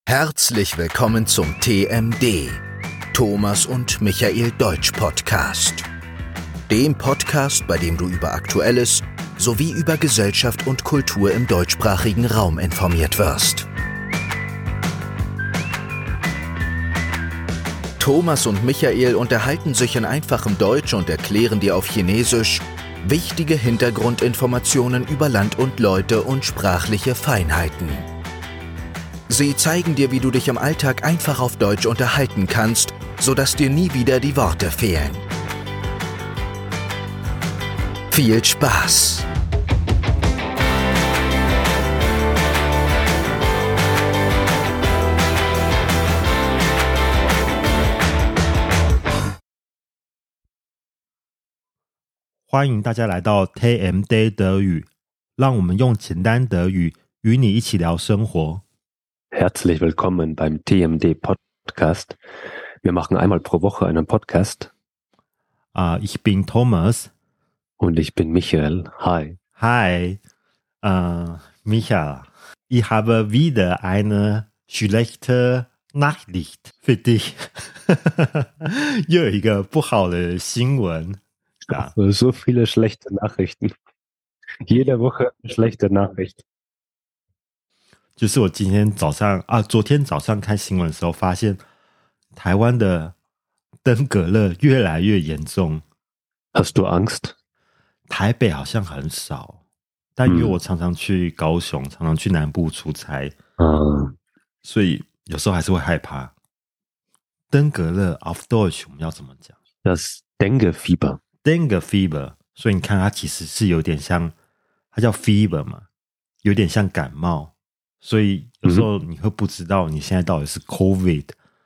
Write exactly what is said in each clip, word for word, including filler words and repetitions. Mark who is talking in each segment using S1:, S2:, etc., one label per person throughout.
S1: Herzlich willkommen zum T M D, Thomas und Michael Deutsch Podcast. Dem Podcast, bei dem du über Aktuelles sowie über Gesellschaft und Kultur im deutschsprachigen Raum informiert wirst. Thomas und Michael unterhalten sich in einfachem Deutsch und erklären dir auf Chinesisch wichtige Hintergrundinformationen über Land und Leute und sprachliche Feinheiten. Sie zeigen dir, wie du dich im Alltag einfach auf Deutsch unterhalten kannst, sodass dir nie wieder die Worte fehlen. Viel Spaß!
S2: Hello， 歡迎大家來到 T M D 德語，讓我們用簡單德語與你一起聊生活。
S3: Herzlich willkommen beim T M D Podcast. Wir machen einmal pro Woche einen Podcast.
S2: Uh, ich bin Thomas.
S3: Und ich bin Michael. Hi.
S2: Hi, uh, Michael. Ich habe wieder eine schlechte Nachricht für dich. 又有一個不好的新聞。Ja.
S3: So viele schlechte Nachrichten. Jede Woche eine schlechte Nachricht.
S2: 就是我今天早上啊，昨天早上看新聞的時候，發現台灣的登革熱越來越嚴重。
S3: Hast du Angst?
S2: 台北好像很少，但因為我常常去高雄，嗯、常常去南部出差，
S3: 嗯，
S2: 所以有時候還是會害怕。登革熱 auf Deutsch 我們要怎麼講？
S3: Das Dengue Fieber.
S2: Dengue Fever， 所以你看它其實是有點像，它叫 fever 嘛，有點像感冒。所以有時候你會不知道你現在到底是 COVID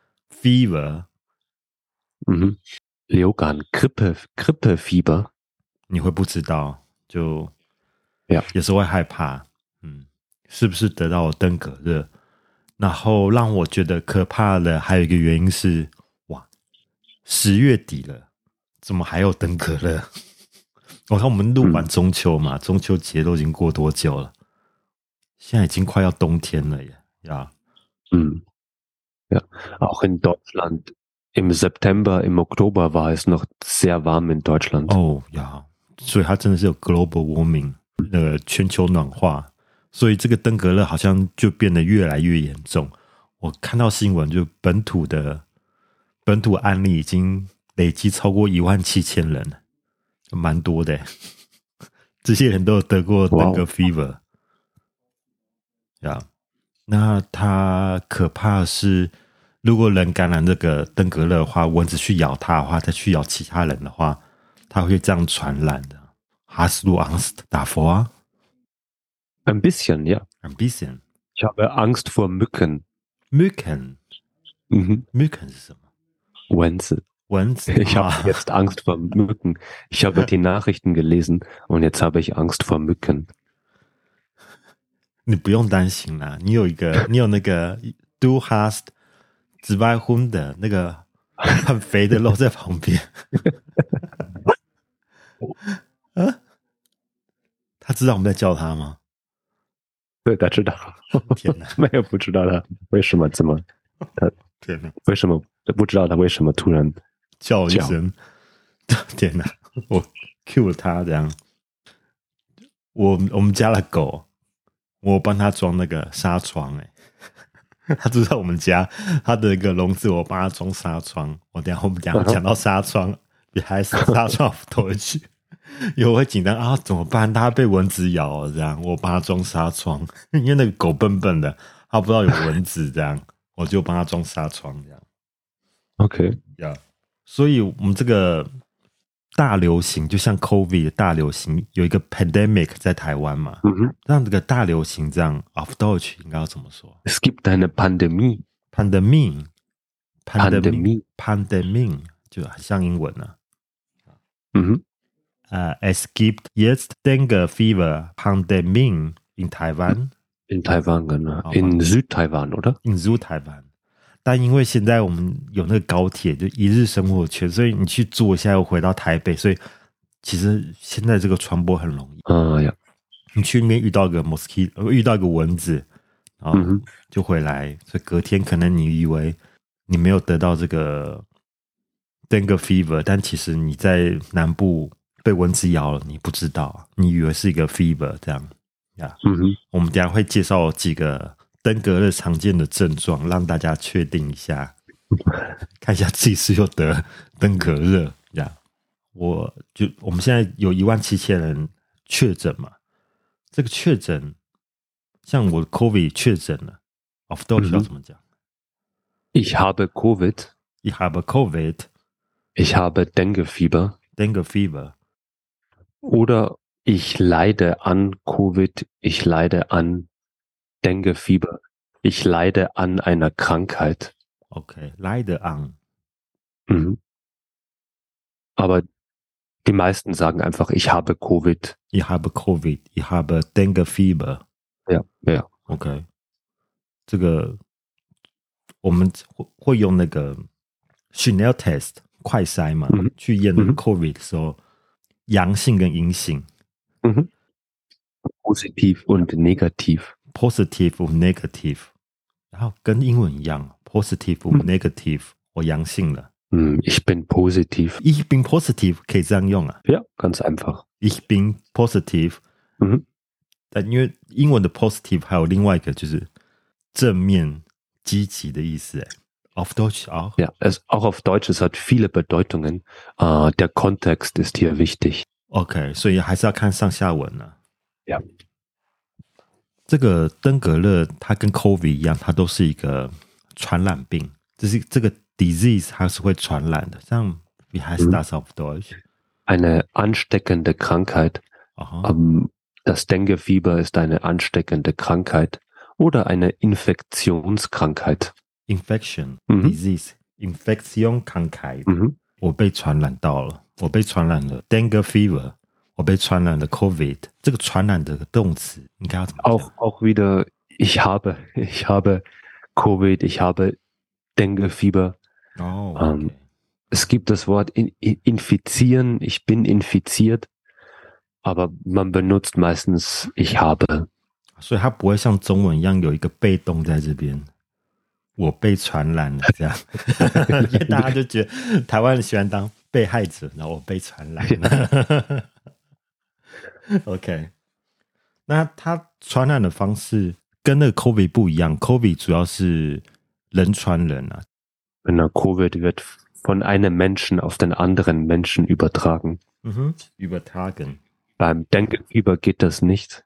S2: fever，
S3: 嗯，流感 Grippe Grippe Fieber，
S2: 你會不知道，就有時候會害怕，嗯，是不是得到了登革熱？然後讓我覺得可怕的還有一個原因是，哇，十月底了，怎麼還有登革熱？我看我們錄完中秋嘛，嗯、中秋節都已經過多久了？現在已經快要冬天了耶，ja.
S3: Hm. Ja, auch in Deutschland. Im September, im Oktober war es noch sehr warm in Deutschland.
S2: Oh, ja. 所以它真的是有 global warming， 那個全球暖化，所以這個登革熱好像就變得越來越嚴重。我看到新聞，就本土的本土案例已經累積超過一萬七千人，蠻多的耶。這些人都有得過登革 fever。呀、yeah. 那它可怕的是，如果人感染這個登革熱的話，蚊子去咬它的話，再去咬其他人的話，它會這樣傳染的。Hast du Angst davor?
S3: Ein bisschen, ja.
S2: Ein bisschen.
S3: Ich habe Angst vor Mücken.
S2: Mücken?
S3: Mhm.
S2: Mücken 是什麼？蚊子。蚊子。
S3: Ich habe jetzt Angst vor Mücken. Ich habe die Nachrichten gelesen und jetzt habe ich Angst vor Mücken.
S2: 你不用擔心啦，你有一個，你有那個 Du hast zwei Hunde 那個很肥的肉在旁邊。啊？他知道我們在叫他嗎？
S3: 對，他知道。
S2: 天哪，
S3: 沒有不知道他為什麼這麼，他
S2: 天哪，
S3: 為什麼不知道他為什麼突然
S2: 叫一聲？天哪，我 cue 了他這樣。我我們家的狗。我幫他裝那個紗窗，誒，他住在我們家，他的一個籠子，我幫他裝紗窗。我等一下我們等一下講到紗窗，別還是紗窗拖回去，因為我會緊張啊，怎麼辦？他被蚊子咬了，這樣我幫他裝紗窗，因為那個狗笨笨的，他不知道有蚊子，這樣我就幫他裝紗窗，這樣。
S3: OK，
S2: 呀、yeah. 所以我們這個大流行，就像 COVID 的大流行，有一個 pandemic 在台灣嘛，嗯哼，讓這個大流行這樣 auf Deutsch 應該要怎麼說？
S3: Es gibt eine Pandemie.
S2: Pandemie.
S3: Pandemie.
S2: Pandemie 就很像英文啊。
S3: 嗯哼，
S2: 呃、uh, Es gibt jetzt Dengue Fever Pandemie in Taiwan.
S3: In Taiwan, genau. In Südtaiwan, oder?
S2: In Südtaiwan. 但因為現在我們有那個高鐵，就一日生活圈，所以你去坐一下又回到台北，所以其實現在這個傳播很容易。
S3: 啊呀，
S2: 你去那邊遇到一個 mosquito， 遇到一個蚊子， 然後就回來，所以隔天可能你以為你沒有得到這個 dengue fever， 但其實你在南部被蚊子咬了，你不知道，你以為是一個 fever 這樣呀。Yeah.
S3: 嗯哼，
S2: 我們等一下會介紹幾個登革熱常見的症狀，讓大家確定一下，看一下自己是有得登革熱呀。Yeah. 我就我們現在有一萬七千人確診嘛，這個確診，像我 COVID 確診了 auf Deutsch 要怎麼講？
S3: Ich habe Covid.
S2: Ich habe Covid.
S3: Ich habe Dengue Fieber.
S2: Dengue Fieber.
S3: Oder ich leide an Covid. Ich leide an Dengue Fieber. Ich leide an einer Krankheit.
S2: Okay, leide an.
S3: Mhm. Aber die meisten sagen einfach, ich habe Covid.
S2: Ich habe Covid. Ich habe Dengue Fieber.
S3: Ja, ja.
S2: OK， 這個我們會會用那個 Schnell Test 快篩嘛，嗯、去驗那個 COVID 的時候，嗯、陽性跟陰性。
S3: 嗯哼 ，Positiv und negativ。Positiv
S2: und negativ， 然後跟英文一樣 ，Positiv und negativ，、嗯、我陽性了。
S3: 嗯 ，Ich bin positiv。Ich
S2: bin positiv 可以這樣用啊。
S3: Ja, ganz einfach。Ich
S2: bin positiv。
S3: 嗯。
S2: 但因為英文的 positive 還有另外一個就是正面積極的意思，哎 ，auf Deutsch auch?
S3: Ja, es, auch auf Deutsch, es hat viele Bedeutungen. Uh, der Kontext ist hier wichtig.
S2: OK， 所以還是要看上下文呢、啊。
S3: Ja，
S2: 這個登革熱它跟 COVID 一樣，它都是一個傳染病，就是這個 disease 它是會傳染的。像 wie heißt das auf Deutsch?
S3: Eine ansteckende Krankheit. Um, Das Dengue-Fieber ist eine ansteckende Krankheit oder eine Infektionskrankheit.
S2: Infection, mhm. Disease, Infektion, Krankheit.
S3: Mhm.
S2: 我被傳染到了，我被傳染了 Dengue Fever， 我被傳染了 COVID。這個傳染的動詞應該要怎麼講？
S3: Auch, auch wieder, ich habe, ich habe COVID, ich habe Dengue Fieber.
S2: Oh, okay.
S3: um, es gibt das Wort in, in, infizieren, ich bin infiziert.Aber man benutzt meistens ich habe.
S2: 所以它不會像中文一樣有一個被動在這邊，我被傳染了這樣，因為大家就覺得台灣人喜歡當被害者，然後我被傳染了。OK， 那它傳染的方式跟那個 COVID 不一樣 ，COVID 主要是人傳人啊。
S3: Genau, Covid wird von einem Menschen auf den anderen Menschen übertragen.
S2: Mhm, übertragen.Beim
S3: Dengue-Fieber geht das nicht.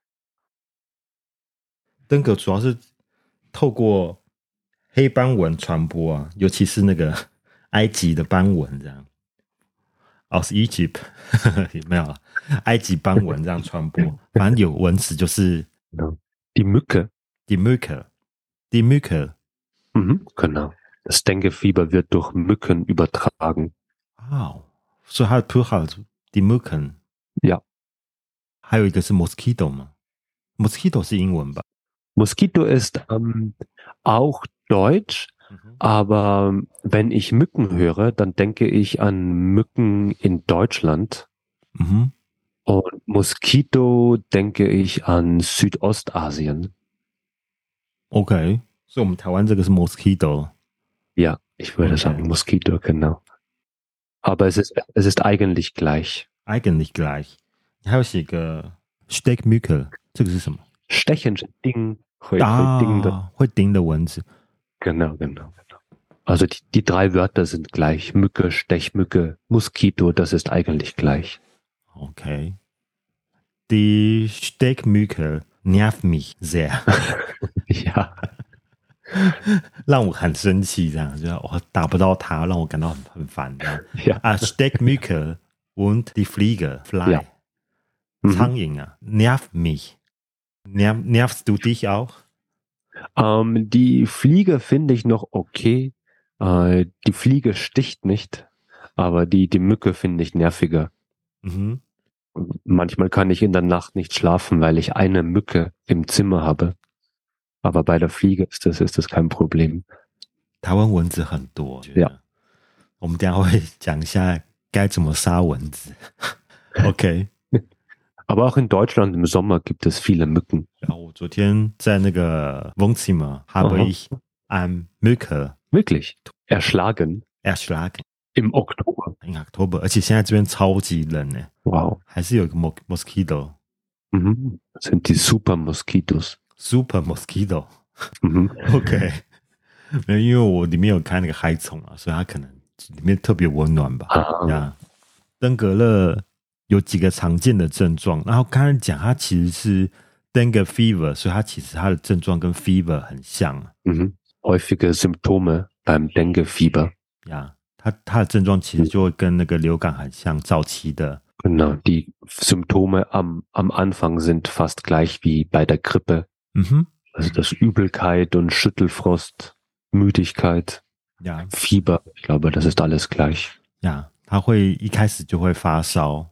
S2: 登革主要是透過黑斑蚊傳播啊，尤其是那個埃及的斑蚊這樣。aus Egypt 沒有了，埃及斑蚊這樣傳播，反正有蚊子就是
S3: Die Mücke.
S2: Die Mücke. Die Mücke.
S3: Mhm, genau. Das Dengue-Fieber wird durch Mücken übertragen.
S2: Wow. 所以它的 Plural die Mücken.
S3: Ja.
S2: 還有一個是 Mosquito 嗎 ？Mosquito 是英文吧
S3: ？Mosquito ist ähm, auch Deutsch, mhm. aber wenn ich Mücken höre, dann denke ich an Mücken in Deutschland.
S2: Mhm.
S3: Und Mosquito denke ich an Südostasien.
S2: Okay, so 我們台灣這個是 Mosquito.
S3: Ja, ich würde okay. sagen Mosquito, genau. Aber es ist, es ist eigentlich gleich.
S2: Eigentlich gleich.還有寫個 Stechmücke， 這個是什麼
S3: ？Stechen 是叮，會會叮的，
S2: 會叮的蚊子。
S3: Genau, genau, genau. Also die, die drei Wörter sind gleich. Mücke, Stechmücke, Mosquito, das ist eigentlich gleich.
S2: Okay. Die Stechmücke nervt mich sehr.
S3: Ja.
S2: 讓我很生氣，這樣就我打不到它，讓我感到很很煩。這樣
S3: Ja.
S2: 啊 Stechmücke und die Fliege, Fly.
S3: Ja.
S2: 蒼蠅啊 nerv mich. Nerv, nervst du dich auch?
S3: Ähm, die Fliege finde ich noch okay. Äh, die Fliege sticht nicht, aber die, die Mücke finde ich nerviger.
S2: Mhm.
S3: Manchmal kann ich in der Nacht nicht schlafen, weil ich eine Mücke im Zimmer habe. Aber bei der Fliege ist das, ist das kein Problem.
S2: 台灣蚊子很多。
S3: Ja.
S2: 我們等一下會講一下該怎麼殺蚊子。OK。
S3: Aber auch in Deutschland im Sommer gibt es viele Mücken.
S2: Ja,我昨天在那个 Wohnzimmer habe ich ein Mücke
S3: Wirklich? Erschlagen?
S2: erschlagen.
S3: Im Oktober?
S2: In Oktober. 而且现在這邊超級冷呢。
S3: Wow.
S2: 還是有一個 Mosquito.
S3: Mhm. Das sind die Super Moskitos.
S2: Super Mosquito.
S3: 嗯哼
S2: OK， 沒有，因為我裡面有開那個害蟲啊，所以它可能裡面特別溫暖吧。
S3: 啊
S2: 呀，登革熱有幾個常見的症狀，然後剛才講它其實是 Dengue Fever， 所以它其實它的症狀跟 Fever 很像。
S3: 嗯哼 Häufige Symptome beim Dengue-Fieber.
S2: 呀，它它的症狀其實就會跟那個流感很像，早期的。
S3: Genau, die Symptome am, am Anfang sind fast gleich wie bei der Grippe.
S2: 嗯哼。
S3: Also das Übelkeit und Schüttelfrost, Müdigkeit,
S2: ja.
S3: Fieber, ich glaube, das ist alles gleich.
S2: 呀，他會一開始就會發燒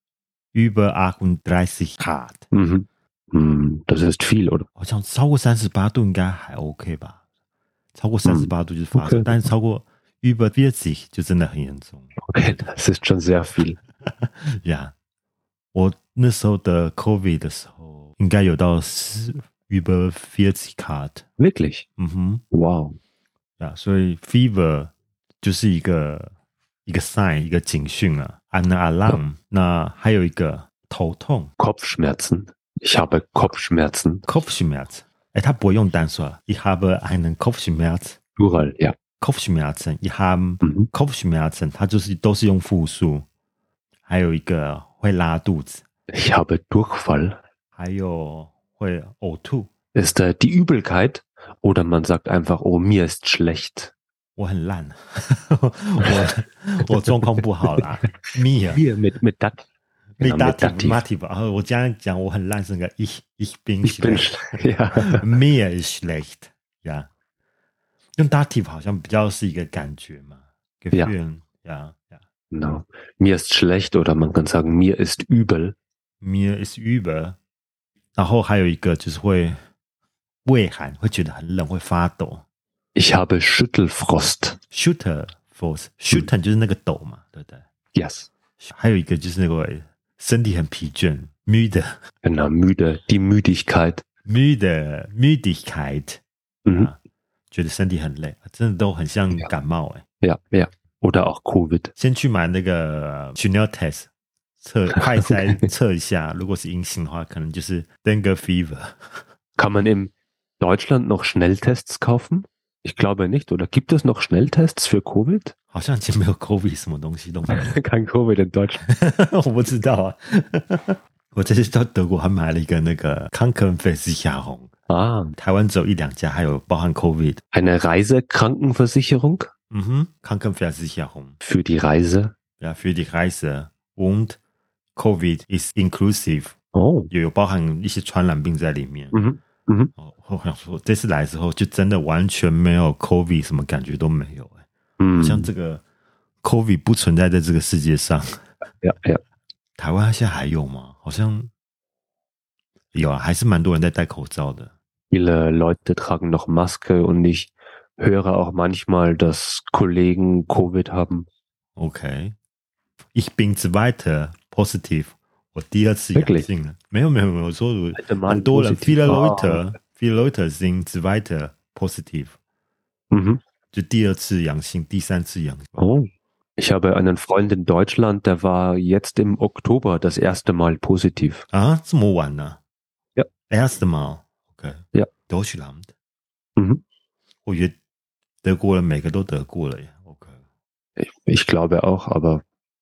S2: über achtunddreißig Grad。
S3: Mhm. Mm, das ist viel, oder?
S2: 好像超過三十八度應該還 OK 吧？超過三十八度就是發燒，嗯 okay. 但是超過 über vierzig 就真的很嚴重。
S3: OK， das ist schon sehr viel。
S2: 呀，我那時候的 COVID 的時候，應該有到十。über vierzig Grad.
S3: Wirklich?
S2: 嗯哼
S3: Wow.
S2: 呀，所以 fever 就是一個一個 sign 一個警訊啊 eine Alarm、哦、那還有一個頭痛
S3: Kopfschmerzen. Ich habe Kopfschmerzen.
S2: Kopfschmerz. 誒，他不會用單說 Ich habe einen Kopfschmerz.
S3: Plural, ja.
S2: Kopfschmerzen. Ich habe、嗯、Kopfschmerzen. 它就是都是用複數。還有一個會拉肚子
S3: Ich habe Durchfall.
S2: 還有會嘔吐
S3: Ist äh, die Übelkeit oder man sagt einfach, oh, mir ist schlecht.
S2: 我很爛我我狀況不好啦 mir
S3: mir mit mit dat
S2: mit dativ 我這樣講我很爛是那個 ich ich bin
S3: ich
S2: schlecht
S3: bin, ja.
S2: mir ist schlecht 呀、yeah. 用 dativ 好像比較是一個感覺嘛 Gefühl 呀 ja.
S3: Genau. Mir ist schlecht oder man kann sagen mir ist übel.
S2: mir ist übel 然後還有一個就是會畏寒會覺得很冷會發抖
S3: Ich habe Schüttelfrost.
S2: Schüttelfrost. Schütteln 就是那個抖嘛，對不對
S3: Yes.
S2: 還有一個就是那個身體很疲倦 müde.
S3: Genau, müde. Die Müdigkeit.
S2: müde. Müdigkeit.
S3: 嗯、
S2: 啊，覺得身體很累，真的都很像感冒哎。
S3: Ja, ja. Oder auch Covid.
S2: 先去買那個 Schnelltest 測快篩測一下，如果是陰性的話，可能就是 Dengue Fever.
S3: Kann man in Deutschland noch Schnelltests kaufen? Ich glaube nicht. Oder gibt es noch Schnelltests für Covid?
S2: 好像已經沒有 Covid 什麼東西都沒有。
S3: Kein Covid in Deutschland.
S2: 我不知道啊。我這次到德國還買了一個那個 Krankenversicherung
S3: 啊，
S2: 台灣只有一兩家，還有包含 Covid。
S3: Eine Reisekrankenversicherung?
S2: 嗯哼 Krankenversicherung.
S3: Für die Reise?
S2: Ja, für die Reise. Und Covid is inclusive.
S3: 哦，
S2: 有有包含一些傳染病在裡面。
S3: 嗯哼。嗯哼，
S2: 我想說這次來之後就真的完全沒有 COVID 什麼感覺都沒有哎，嗯，像這個 COVID 不存在在這個世界上。
S3: 呀呀，
S2: 台灣現在還有嗎？好像有啊，還是蠻多人在戴口罩的。
S3: Viele Leute tragen noch Maske und ich höre auch manchmal, dass Kollegen Covid haben.
S2: Okay, ich bin zweiter positiv. 我第二次陽性了，沒有沒有沒有，我說很多人 viele Leute viele Leute sind zweiter positiv，
S3: 嗯哼，
S2: 就第二次陽性，第三次陽性。
S3: 哦， ich habe einen Freund in Deutschland, der war jetzt im Oktober das erste Mal positiv.
S2: 啊，這麼晚呢？
S3: ja
S2: erste Mal OK
S3: ja
S2: Deutschland，
S3: 嗯哼，
S2: 我覺得德國人每個都得過了耶 OK
S3: ich, ich glaube auch, aber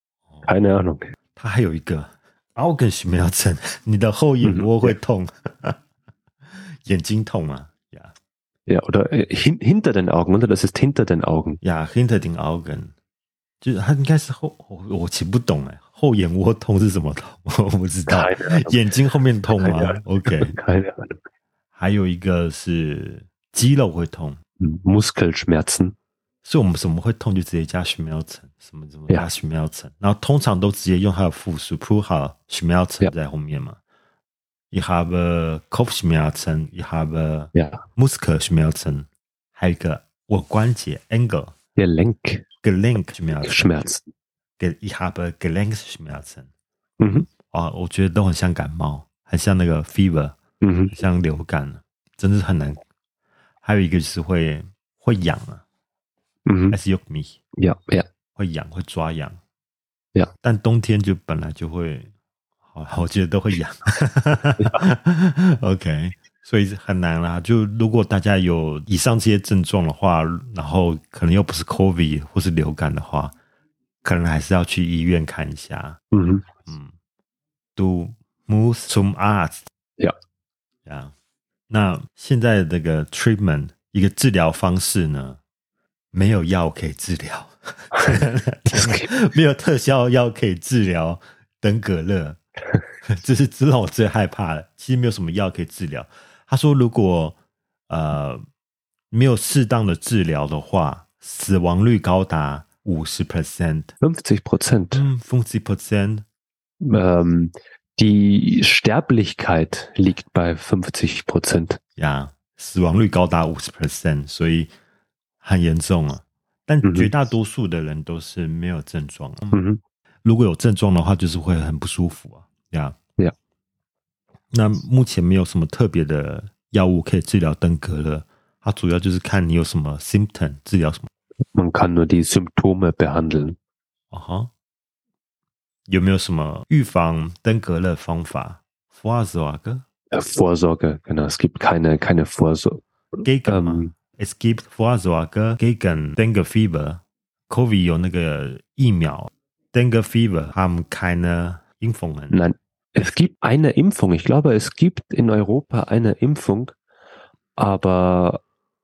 S3: keine Ahnung。
S2: 他還有一個。Augenschmerzen 你的後眼窩會痛，嗯、眼睛痛啊 ja.
S3: ja, oder hin, hinter den Augen, oder? Das ist hinter den Augen.
S2: Ja, hinter den Augen. 就是它應該是後，我我其實不懂哎，後眼窩痛是什麼痛？我不知道。眼睛後面痛嗎 ？OK。還有一個是肌肉會痛
S3: ，Muskelschmerzen。
S2: 所以我們什麼會痛就直接加 Schmerzen 什麼什麼加 Schmerzen， 然後通常都直接用它的複數 Plural Schmerzen 在後面嘛。Ich habe Kopfschmerzen, ich habe Muskelschmerzen， 還有一個我關節 Ankle Gelenk Gelenkschmerzen， Ich habe Gelenkschmerzen。
S3: 嗯哼
S2: 啊，我覺得都很像感冒，很像那個 fever， 嗯，很像流感，真的是很難。還有一個就是會會癢啊，嗯 ，es juckt mich，ja ja，會癢會抓癢，呀、yeah. 但冬天就本來就會，好，我覺得都會癢。OK， 所以很難啦。就如果大家有以上這些症狀的話，然後可能又不是 COVID 或是流感的話，可能還是要去醫院看一下。嗯嗯 ，Du musst zum Arzt。Ja，呀。那現在的這個 treatment 一個治療方式呢，沒有藥可以治療，沒有特效藥可以治療登革熱，這是這讓我最害怕的。其實沒有什麼藥可以治療。他說，如果呃沒有適當的治療的話，死亡率高達五十 percent，fünfzig Prozent，嗯 ，fünfzig Prozent，
S3: 嗯。Die Sterblichkeit liegt bei fünfzig Prozent。
S2: 呀，死亡率高達五十 percent， 所以很嚴重啊。但絕大多數的人都是沒有症狀。嗯，如果有症狀的話，就是會很不舒服啊。呀呀，那目前沒有什麼特別的藥物可以治療登革熱，它主要就是看你有什麼 symptom， 治療什麼。
S3: Man kann nur die Symptome behandeln。
S2: 啊哈。有沒有什麼預防登革熱方法 ？Vorsorge？
S3: Vorsorge, genau. Es gibt keine, keine Vorsorge.
S2: Gegen, ähm, es gibt Vorsorge gegen Dengue Fever. Covid 有那個疫苗 ，Dengue Fever haben keine Impfungen.
S3: Nein, es gibt eine Impfung. Ich glaube, es gibt in Europa eine Impfung, aber,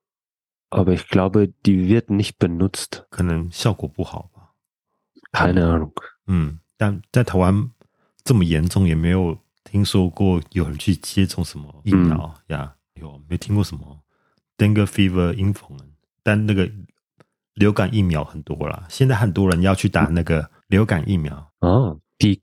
S3: aber ich glaube, die wird nicht benutzt.
S2: 可能效果不好吧？
S3: Keine Ahnung.
S2: 嗯。但在台灣這麼嚴重，也沒有聽說過有人去接種什麼疫苗呀？嗯 yeah, 有沒聽過什麼 Dengue Fever Impfung？ 但那個流感疫苗很多啦，現在很多人要去打那個流感疫苗。
S3: 哦 die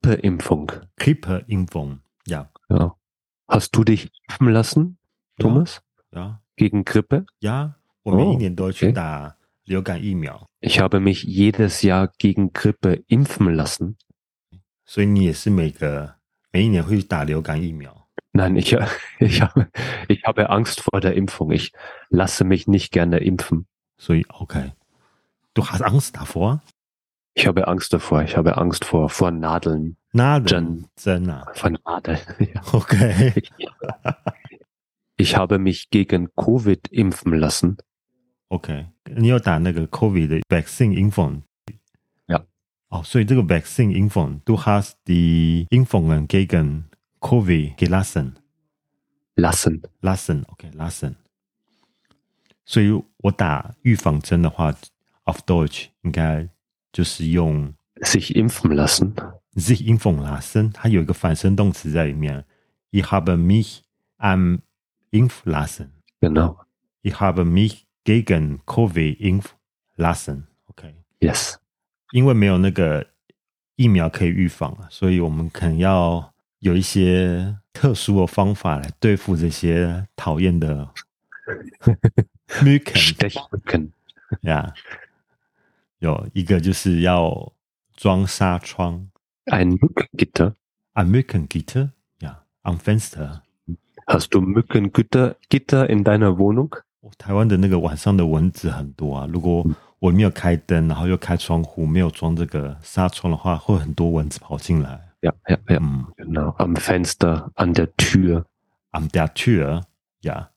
S2: Grippeimpfung。Grippeimpfung， ja.
S3: ja. Hast du dich impfen lassen, Thomas?
S2: Ja. ja.
S3: Gegen Grippe?
S2: Ja, 我每一年都去打流感疫苗。
S3: Ich habe mich jedes Jahr gegen Grippe impfen lassen.
S2: 所以你也是每個每一年會打流感疫苗？
S3: Nein, ich, ich, habe, ich habe Angst vor der Impfung. Ich lasse mich nicht gerne impfen.
S2: 所以 OK, du hast Angst davor?
S3: Ich habe Angst davor. Ich habe Angst vor, vor Nadeln.
S2: Nadeln?针啊?
S3: Vor Nadeln. Ja.
S2: Okay.
S3: Ich habe mich gegen Covid impfen lassen.
S2: OK, 你有打那個 COVID 的 Vaccine Impfung？
S3: Ja.
S2: 哦，所以這個 Vaccine Impfung, du hast die Impfungen gegen COVID gelassen?
S3: Lassen.
S2: Lassen, OK, lassen. 所以我打預防針的話 auf Deutsch 應該就是用
S3: sich impfen lassen.
S2: sich impfen lassen, 它有一個反身動詞在裡面。Ich habe mich am impfen lassen.
S3: Genau.
S2: Ich habe mich gegen Covid impfen lassen. OK.
S3: Yes.
S2: 因為沒有那個疫苗可以預防，所以我們可能要有一些特殊的方法來對付這些討厭的 Mücken。呀，有一個就是要裝紗窗。
S3: Ein Mückengitter.
S2: Ein Mückengitter? Ja, am Fenster.
S3: Hast du Mückengitter Gitter in deiner Wohnung?
S2: 台灣的那個晚上的蚊子很多啊，如果我沒有開燈，然後又開窗戶，沒有裝這個紗窗的話，會很多蚊子跑進來。
S3: Ja, ja, ja. Mm. Genau. Am Fenster, an der Tür.
S2: An der Tür, ja.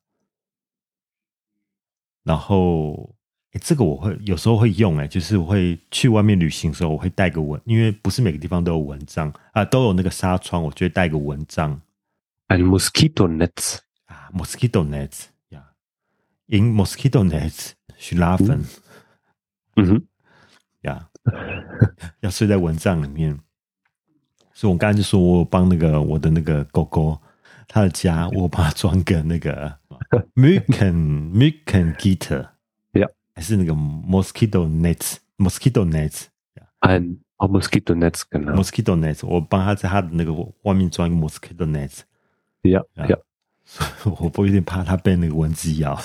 S2: 然後，誒，這個我會有時候會用，誒，就是我會去外面旅行的時候，我會帶個蚊，因為不是每個地方都有蚊帳啊，都有那個紗窗，我就會帶個蚊帳。
S3: Ein Moskitonetz.
S2: 啊 ，Mosquito Netz。In mosquito nets schlafen，
S3: 嗯哼，
S2: 呀，要睡在蚊帳裡面。所以我剛才就說我幫那個我的那個狗狗，它的家我幫它裝個那個 Mücken Mücken Gitter，
S3: ja，
S2: 還是那個 mosquito nets mosquito nets，ein
S3: mosquito nets， genau
S2: mosquito nets， 我幫它在它的那個外面裝一個 mosquito nets，
S3: ja ja。
S2: 我不有點怕它被那個蚊子咬，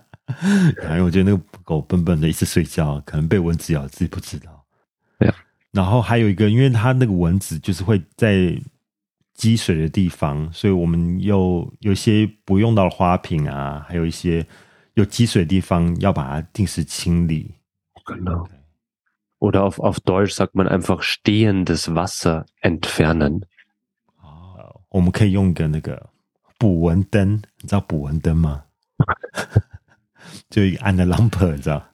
S2: 因為我覺得那個狗笨笨的一直睡覺，可能被蚊子咬自己不知道。
S3: Yeah.
S2: 然後還有一個，因為它那個蚊子就是會在積水的地方，所以我們又有一些不用到的花瓶啊，還有一些有積水的地方要把它定時清理。
S3: Genau. Oder auf, auf Deutsch sagt man einfach stehendes Wasser entfernen.
S2: 哦，我們可以用一個那個捕蚊燈，你知道捕蚊燈嗎？就一個 eine Lampe， 你知道？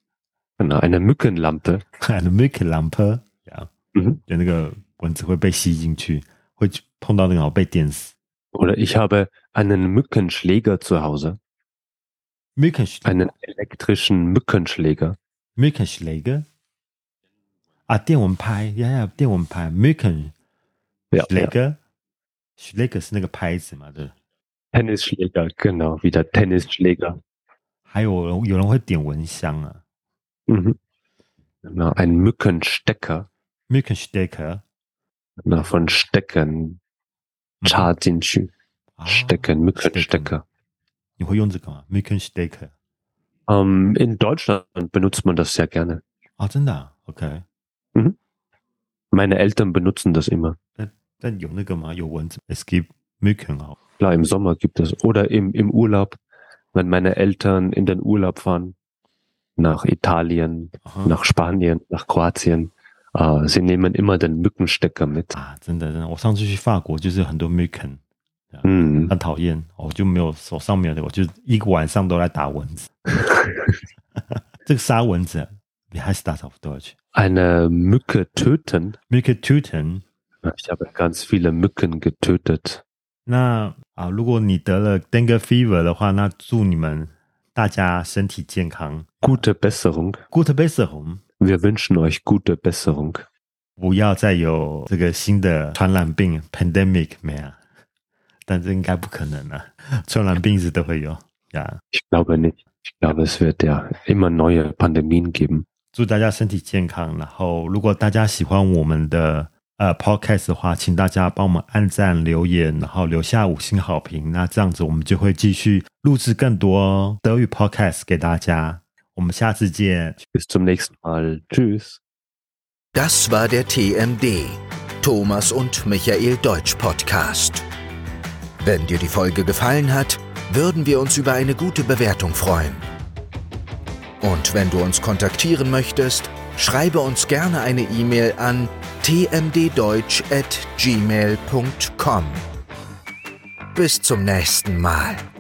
S3: Genau, eine Mückenlampe.
S2: eine Mückenlampe， ja，
S3: 嗯，
S2: 就那個蚊子會被吸進去，會碰到那個然後被電死。
S3: Oder ich habe einen Mückenschläger zu Hause.
S2: Mückenschläger.
S3: Einen elektrischen Mückenschläger.
S2: Mückenschläger？ 啊，電蚊拍，呀呀，電蚊拍 ，Mücken，
S3: ja,
S2: Schläger， Schläger 是那個拍子嘛，對。
S3: Tennisschläger, genau, wie der Tennisschläger.
S2: 還有有人會點蚊香啊。
S3: Mhm. Genau, ein Mückenstecker.
S2: Mückenstecker.
S3: Na, von Stecken.插進去。Stecken, Mückenstecker.
S2: 你會用這個嗎 ？Mückenstecker.
S3: Um, in Deutschland benutzt man das sehr gerne.
S2: 啊，真的啊 ？OK。
S3: Mhm. Meine Eltern benutzen das immer.
S2: 但但有那個嗎？有蚊子 ？Es gibt Mücken auch.
S3: Klar, im Sommer gibt es. Oder im, im Urlaub, wenn meine Eltern in den Urlaub fahren, nach Italien, Aha. nach Spanien, nach Kroatien, äh, sie nehmen immer den Mückenstecker mit.
S2: 啊，真的真的，我上次去法國就是很多 Mücken，
S3: 嗯，
S2: 很討厭，我就沒有手上沒有那個，我就一個晚上都在打蚊子。這個殺蚊子，wie heißt das auf Deutsch?
S3: Eine Mücke töten.
S2: Mücke töten.
S3: Ich habe ganz viele Mücken getötet.
S2: 那啊，如果你得了 Dengue Fever 的話，那祝你們大家身體健康。
S3: Gute Besserung.
S2: Gute Besserung.
S3: Wir wünschen euch gute Besserung.
S2: 不要再有這個新的傳染病 Pandemic 沒啊？但這應該不可能啊，傳染病一直都會有呀。
S3: Ich glaube nicht. Ich glaube, es wird ja immer neue Pandemien geben.
S2: 祝大家身體健康。然後，如果大家喜歡我們的呃 Podcast 的話，請大家幫我們按讚、留言，然後留下五星好評。那這樣子，我們就會繼續錄製更多德語 Podcast 給大家。我們下次見。
S3: Bis zum nächsten Mal. Tschüss.
S1: Das war der T M D, Thomas und Michael Deutsch Podcast. Wenn dir die Folge gefallen hat, würden wir uns über eine gute Bewertung freuen. Und wenn du uns kontaktieren möchtest, schreibe uns gerne eine E-Mail an t m d deutsch at gmail punkt com. Bis zum nächsten Mal.